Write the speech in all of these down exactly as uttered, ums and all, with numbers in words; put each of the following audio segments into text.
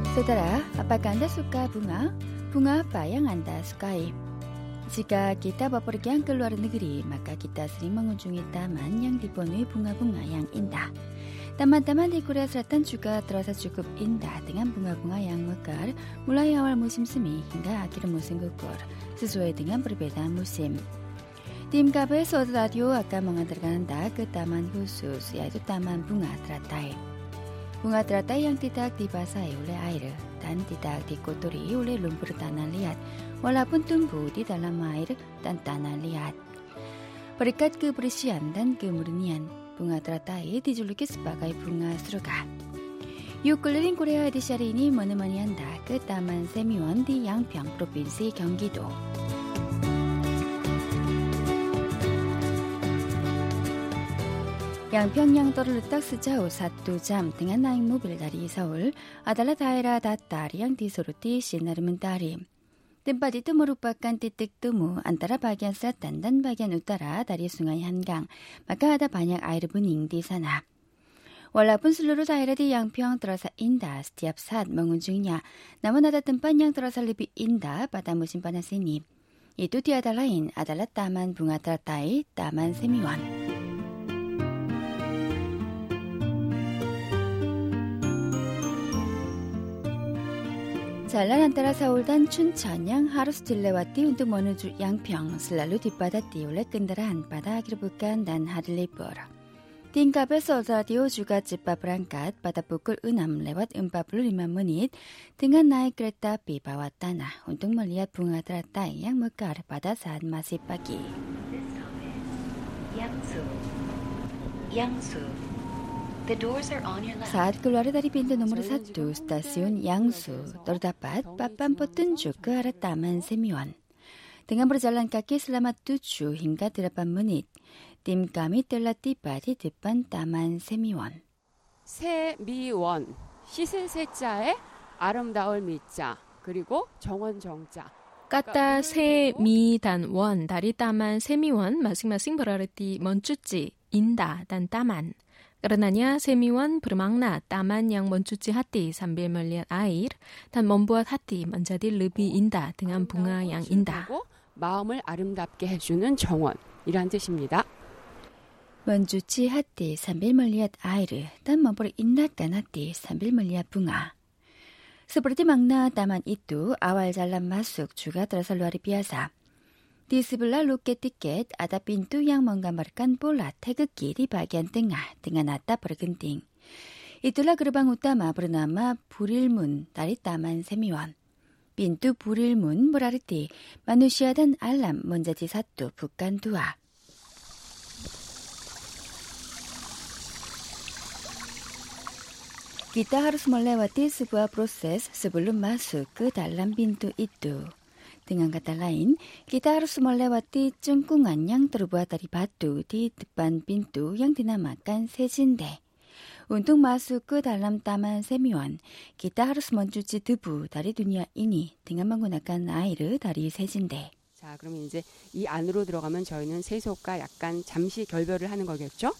Saudara, apakah Anda suka bunga? Bunga apa yang Anda sukai? Jika kita bepergian ke luar negeri, maka kita sering mengunjungi taman yang dipenuhi bunga-bunga yang indah. Taman-taman di Korea Selatan juga terasa cukup indah dengan bunga-bunga yang mekar mulai awal musim semi hingga akhir musim gugur, sesuai dengan perbedaan musim. Tim K B S World Radio akan mengantarkan Anda ke taman khusus, yaitu Taman Bunga Teratai. Bunga teratai yang tidak dibasahi oleh air dan tidak dikotori oleh lumpur tanah liat, walaupun tumbuh di dalam air dan tanah liat. Berkat kebersihan dan kemurnian, bunga teratai dijuluki sebagai bunga surga. Yuk keliling Korea edisi hari ini menemani Anda ke Taman Semiwon di Yangpyeong, Provinsi Gyeonggi-do. Yangpyeong yang terletak sejauh satu jam dengan naik mobil dari Seoul adalah daerah datar yang disoroti sinar mentari. Tempat itu merupakan titik temu antara bagian selatan dan bagian utara dari Sungai Hangang, maka ada banyak air bening di sana. Walaupun seluruh daerah di Yangpyeong terasa indah setiap saat mengunjunginya, namun ada tempat yang terasa lebih indah pada musim panas ini. Itu tiada lain adalah Taman Bunga Teratai, Taman Semiwon. Jalan antara Seoul dan Chuncheon yang harus dilewati untuk menuju Yangpyeong selalu dipadati oleh kendaraan pada akhir pekan dan hari libur. Tim K B S World Radio juga cepat berangkat pada pukul enam lewat empat puluh lima menit dengan naik kereta api bawah tanah untuk melihat bunga teratai yang mekar pada saat masih pagi. Yangsu. Yangsu. Saat keluar dari pintu nomor satu stasiun Yangsu, terdapat papan petunjuk ke arah Taman Semiwon. Dengan berjalan kaki selama tujuh hingga delapan menit, tim kami telah tiba di depan Taman Semiwon. 세미원, 씻은 세자에 아름다울 미자, 그리고 정원 정자. Kata se, mi, dan won dari Taman Semiwon masing-masing berarti mencuci, indah, dan taman. Karenanya Semiwon bermakna taman yang mencuci hati sambil melihat air dan membuat hati menjadi lebih indah dengan bunga yang indah. 마음을 아름답게 해주는 정원이란 뜻입니다. Mencuci hati sambil melihat air dan memperindahkan hati sambil melihat bunga. Seperti makna taman itu, awal jalan masuk juga terasa luar biasa. Di sebelah loket tiket ada pintu yang menggambarkan bola 태극기 di bagian tengah dengan atap bergenting. Itulah gerbang utama bernama Burilmun dari Taman Semiwon. Pintu Burilmun berarti manusia dan alam menjadi satu bukan dua. Kita harus melewati sebuah proses sebelum masuk ke dalam pintu itu. Dengan kata lain, kita harus melewati cengkungan yang terbuat dari batu di depan pintu yang dinamakan 세진대. Untuk masuk ke dalam Taman Semiwon, kita harus mencuci debu dari dunia ini dengan menggunakan air dari 세진대. 자, 그러면 이제 이 안으로 들어가면 저희는 세속과 약간 잠시 결별을 하는 거겠죠?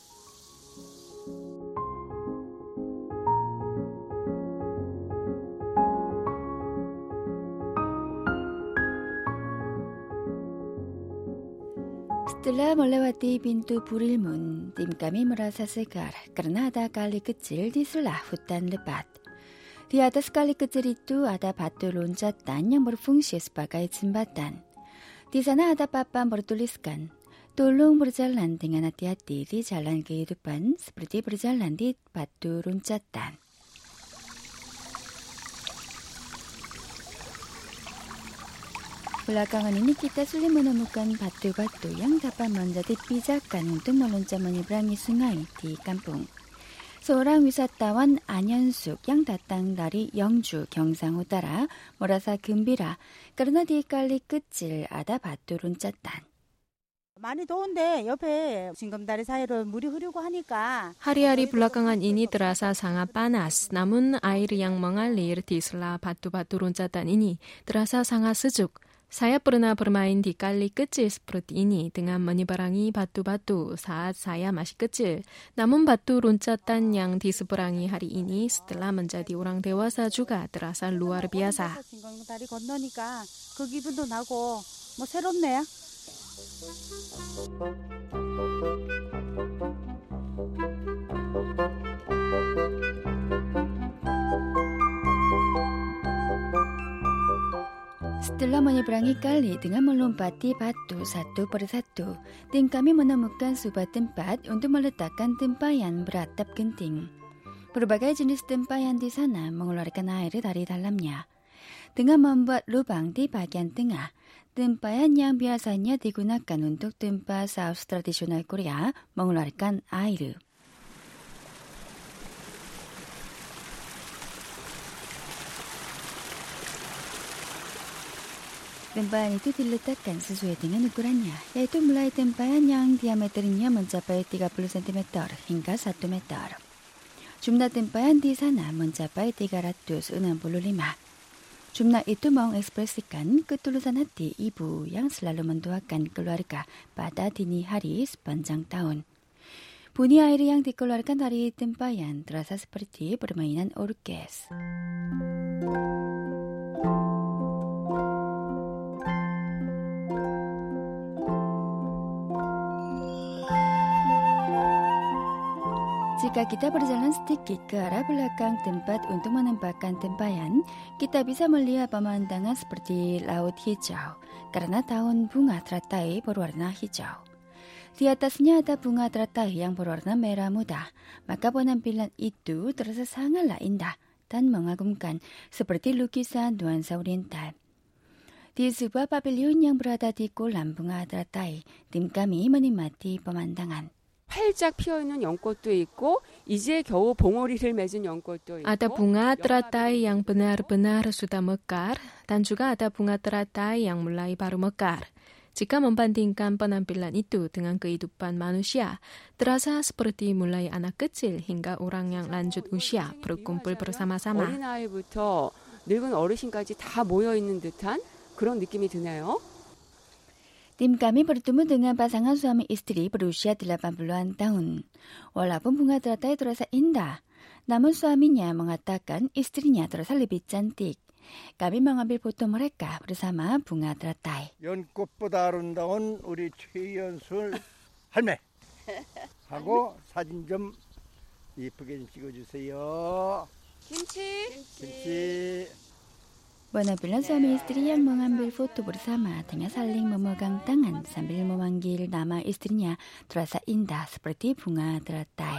Setelah melewati pintu Burilmun, tim kami merasa segar karena ada kali kecil di sebelah hutan lebat. Di atas kali kecil itu ada batu loncatan yang berfungsi sebagai jembatan. Di sana ada papan bertuliskan, tolong berjalan dengan hati-hati di jalan kehidupan seperti berjalan di batu loncatan. Belakangan ini kita sulit menemukan batu-batu yang dapat menjadi pijakan untuk meloncat menyeberangi sungai di kampung. Seorang wisatawan 안현숙 yang datang dari 영주 경상 utara merasa gembira karena di kali kecil ada batu loncatan. 많이 더운데 옆에 징검다리 사이로 물이 흐르고 하니까 Hari-hari belakangan ini terasa sangat panas, namun air yang mengalir di sela batu-batu loncatan ini terasa sangat sejuk. Saya pernah bermain di kali kecil seperti ini dengan menyeberangi batu-batu saat saya masih kecil. Namun batu loncatan yang diseberangi hari ini setelah menjadi orang dewasa juga terasa luar biasa. 다리 건너니까 그 기분도 나고 뭐 새롭네요. Setelah menyeberangi kali dengan melompati batu satu per satu, tim kami menemukan sebuah tempat untuk meletakkan tempayan beratap genting. Berbagai jenis tempayan di sana mengeluarkan air dari dalamnya. Dengan membuat lubang di bagian tengah, tempayan yang biasanya digunakan untuk tempa saus tradisional Korea mengeluarkan air. Tempayan itu diletakkan sesuai dengan ukurannya, yaitu mulai tempayan yang diameternya mencapai tiga puluh sentimeter hingga satu meter. Jumlah tempayan di sana mencapai tiga ratus enam puluh lima. Jumlah itu mengekspresikan ketulusan hati ibu yang selalu mendoakan keluarga pada dini hari sepanjang tahun. Bunyi air yang dikeluarkan dari tempayan terasa seperti permainan orkes. Jika kita berjalan sedikit ke arah belakang tempat untuk menempatkan tempayan, kita bisa melihat pemandangan seperti laut hijau karena daun bunga teratai berwarna hijau. Di atasnya ada bunga teratai yang berwarna merah muda, maka penampilan itu terasa sangatlah indah dan mengagumkan seperti lukisan nuansa oriental. Di sebuah pavilion yang berada di kolam bunga teratai, tim kami menikmati pemandangan. 활짝 피어있는 연꽃도 있고 이제 겨우 봉오리를 맺은 연꽃도 있고 Ada bunga teratai yang benar-benar sudah mekar dan juga ada bunga teratai yang mulai baru mekar. Jika membandingkan penampilan itu dengan kehidupan manusia, terasa seperti mulai anak kecil hingga orang yang lanjut usia berkumpul bersama-sama. 어린아이부터 늙은 어르신까지 다 모여있는 듯한 그런 느낌이 드네요. Tim kami bertemu dengan pasangan suami istri berusia delapan puluhan tahun. Walaupun bunga teratai terasa indah, namun suaminya mengatakan istrinya terasa lebih cantik. Kami mengambil foto mereka bersama bunga teratai. 연꽃보다 아름다운 우리 최연술 할매 하고 사진 좀 예쁘게 좀 찍어주세요. 김치. 김치. Penampilan suami istri yang mengambil foto bersama dengan saling memegang tangan sambil memanggil nama istrinya terasa indah seperti bunga teratai.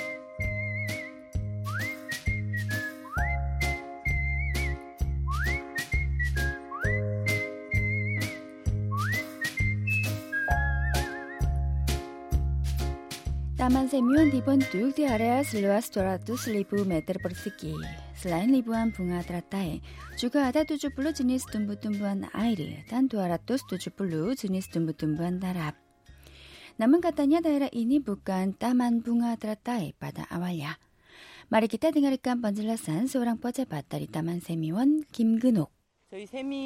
Taman Semiwan dibentuk di area seluas dua ratus ribu meter persegi. Selain ribuan bunga teratai, juga ada tujuh puluh jenis tumbuh-tumbuhan air dan dua ratus tujuh puluh jenis tumbuh-tumbuhan darat. Namun katanya daerah ini bukan taman bunga teratai pada awalnya. Mari kita dengarkan penjelasan seorang pejabat dari Taman Semiwan, 김근옥. 저희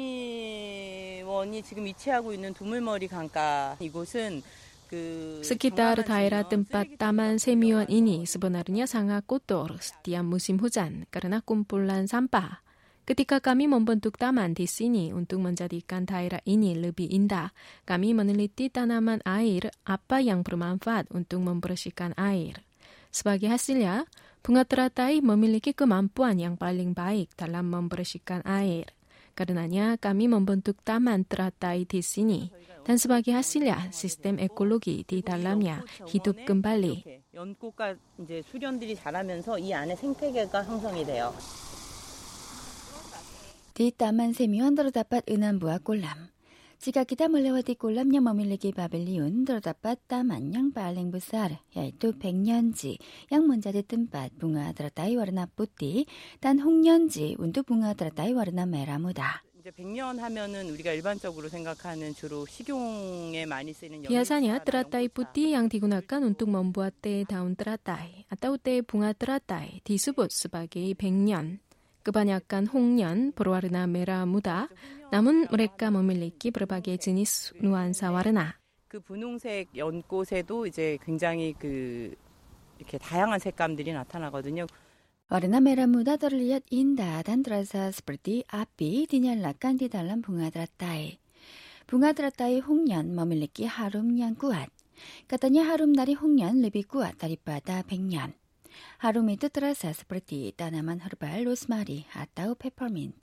세미원이 지금 위치하고 있는 두물머리 강가 이곳은 Sekitar daerah tempat Taman Semiwan ini sebenarnya sangat kotor setiap musim hujan karena kumpulan sampah. Ketika kami membentuk taman di sini untuk menjadikan daerah ini lebih indah, kami meneliti tanaman air apa yang bermanfaat untuk membersihkan air. Sebagai hasilnya, bunga teratai memiliki kemampuan yang paling baik dalam membersihkan air. Karenanya kami membentuk taman teratai di sini. Dan sebagai hasilnya, sistem ekologi di dalamnya hidup kembali. 연꽃과 이제 수련들이 자라면서 이 안에 생태계가 형성이 돼요. Di Taman Semiwan terdapat enam buah kolam. Jika kita melewati kolam yang memiliki pavilion, terdapat taman yang paling besar, yaitu 백년지, yang menjadi tempat bunga teratai warna putih, dan 홍년지 untuk bunga teratai warna merah muda. 이제 백년 하면은 우리가 일반적으로 생각하는 주로 식용에 많이 쓰는 Biasanya teratai putih yang digunakan untuk membuat teh daun teratai atau teh bunga teratai disebut sebagai 백년. Kebanyakan 홍련, berwarna merah muda, namun mereka memiliki berbagai jenis nuansa warna. 그 분홍색 연꽃에도 이제 굉장히 그 이렇게 다양한 색감들이 나타나거든요. Warna merah muda terlihat indah dan terasa seperti api dinyalakan di dalam bunga teratai. Bunga teratai 홍련 memiliki harum yang kuat. Katanya harum dari 홍련 lebih kuat daripada 백년. Harum itu terasa seperti tanaman herbal rosemary atau peppermint.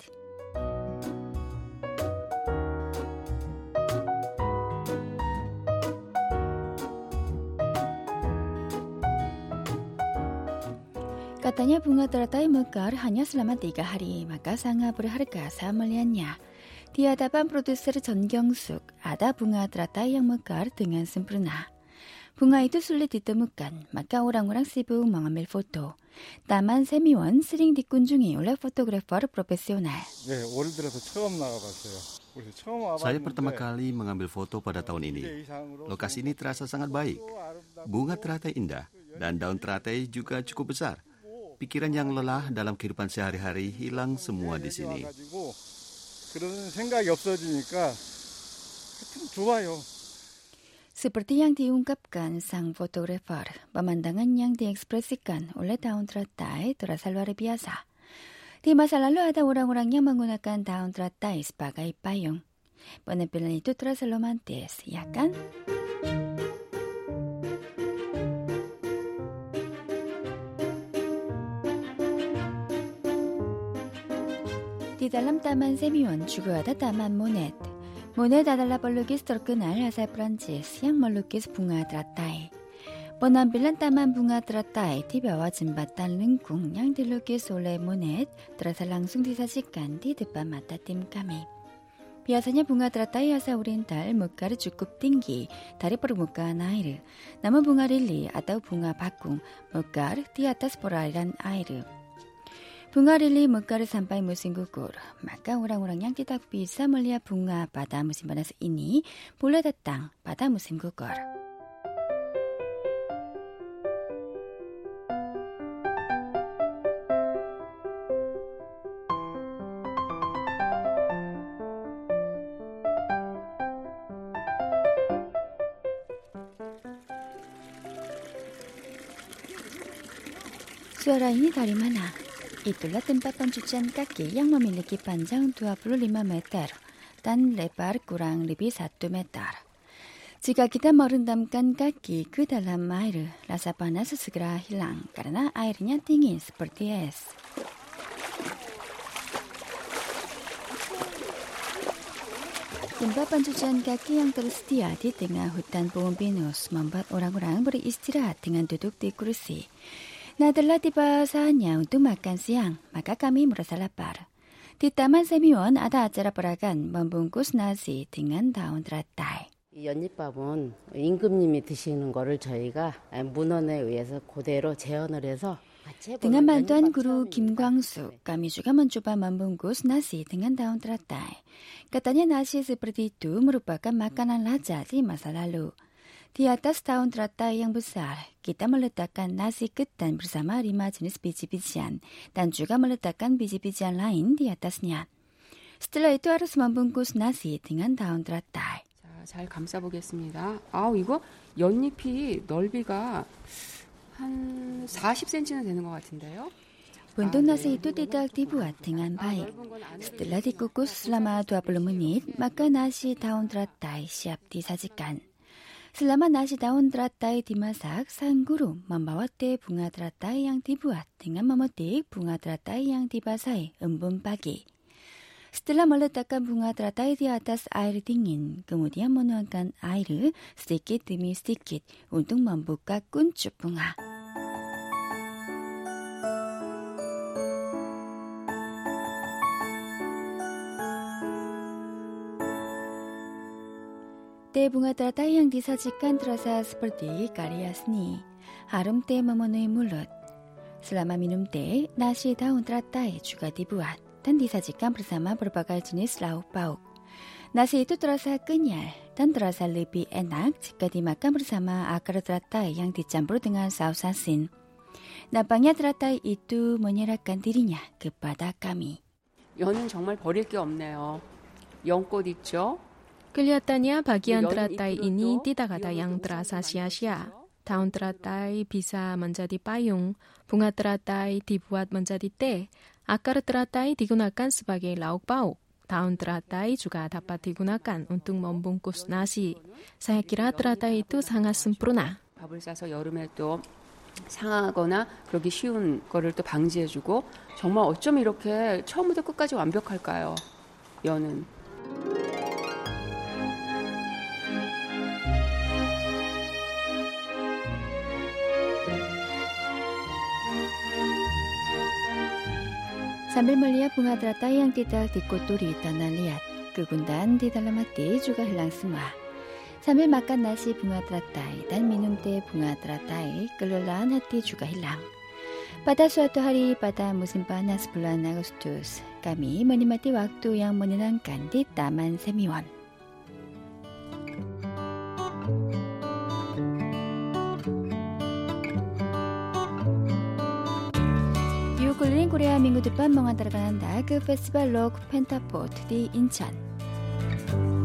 Katanya bunga teratai mekar hanya selama tiga hari, maka sangat berharga saya melihatnya. Di hadapan produser 전경숙, ada bunga teratai yang mekar dengan sempurna. Bunga itu sulit ditemukan, maka orang-orang sibuk mengambil foto. Taman 세미원 sering dikunjungi oleh fotografer profesional. 네, 올 들어서 처음 나가봤어요. 그래서 처음 와봤는데 Saya pertama kali mengambil foto pada tahun ini. Lokasi ini terasa sangat baik. Bunga teratai indah dan daun teratai juga cukup besar. Pikiran yang lelah dalam kehidupan sehari-hari hilang semua di sini. 그런 생각이 없어지니까 하여튼 좋아요. Seperti yang diungkapkan sang fotografer, pemandangan yang diekspresikan oleh daun teratai terasa luar biasa. Di masa lalu ada orang-orang yang menggunakan daun teratai sebagai payung. Penampilan itu terasa romantis, ya kan? Di dalam Taman 세미원 juga ada Taman Monet. Monet adalah pelukis terkenal asal Prancis yang melukis bunga teratai. Penampilan Taman Bunga Teratai di bawah jembatan lengkung yang dilukis oleh Monet terasa langsung disajikan di depan mata tim kami. Biasanya bunga teratai asal oriental mekar cukup tinggi dari permukaan air. Namun bunga lili atau bunga bakung mekar di atas perairan air. Bunga lili mekar sampai musim gugur, maka orang-orang yang tidak bisa melihat bunga pada musim panas ini boleh datang pada musim gugur. Suara ini dari mana? Itulah tempat pencucian kaki yang memiliki panjang dua puluh lima meter dan lebar kurang lebih satu meter. Jika kita merendamkan kaki ke dalam air, rasa panas segera hilang karena airnya dingin seperti es. Tempat pencucian kaki yang tersedia di tengah hutan pohon pinus membuat orang-orang beristirahat dengan duduk di kursi. Nah, telah tiba saatnya untuk makan siang, maka kami merasa lapar. Di Taman 세미원 ada acara peragan membungkus nasi dengan daun teratai. 이 연잎밥은 임금님이 드시는 거를 저희가 문헌에 의해서 그대로 재현을 해서 Dengan bantuan guru Kim Kwang-suk, kami juga mencoba membungkus nasi dengan daun teratai. Katanya nasi seperti itu merupakan makanan raja di masa lalu. Di atas daun teratai yang besar, kita meletakkan nasi ketan bersama lima jenis biji-bijian dan juga meletakkan biji-bijian lain di atasnya. Setelah itu harus membungkus nasi dengan daun teratai. 자, 잘 감싸보겠습니다. 아우, 이거 연잎이 넓이가 한 사십 센티미터는 되는 것 같은데요. Untuk nasi itu tidak dibuat dengan baik. Setelah dikukus selama dua puluh menit, maka nasi daun teratai siap disajikan. Selama nasi daun teratai dimasak, sang guru membawa teh bunga teratai yang dibuat dengan memetik bunga teratai yang dibasahi embun pagi. Setelah meletakkan bunga teratai di atas air dingin, kemudian menuangkan air sedikit demi sedikit untuk membuka kuncup bunga. Teh bunga teratai yang disajikan terasa seperti karya seni. Harum teh memenuhi mulut. Selama minum teh, nasi daun teratai juga dibuat dan disajikan bersama berbagai jenis lauk pauk. Nasi itu terasa kenyal dan terasa lebih enak jika dimakan bersama akar teratai yang dicampur dengan saus asin. Nampaknya teratai itu menyerahkan dirinya kepada kami. 연은 정말 버릴 게 없네요. 연꽃 있죠? Kelihatannya bagian teratai ini tidak ada yang terasa sia-sia. Daun teratai bisa menjadi payung, bunga teratai dibuat menjadi teh, akar teratai digunakan sebagai lauk pauk. Daun teratai juga dapat digunakan untuk membungkus nasi. Saya kira teratai itu sangat sempurna. 밥을 싸서 여름에 또 상하거나 그러기 쉬운 거를 또 방지해주고 정말 어쩜 이렇게 처음부터 끝까지 완벽할까요? 연은. Sambil melihat bunga teratai yang tidak dikotori tanah liat, kegundahan di dalam hati juga hilang semua. Sambil makan nasi bunga teratai dan minum teh bunga teratai, kelelahan hati juga hilang. Pada suatu hari pada musim panas bulan Agustus, kami menikmati waktu yang menyenangkan di Taman Semiwon. Keliling Korea minggu depan mengantarkan Anda ke Festival Rock Pentaport di Incheon.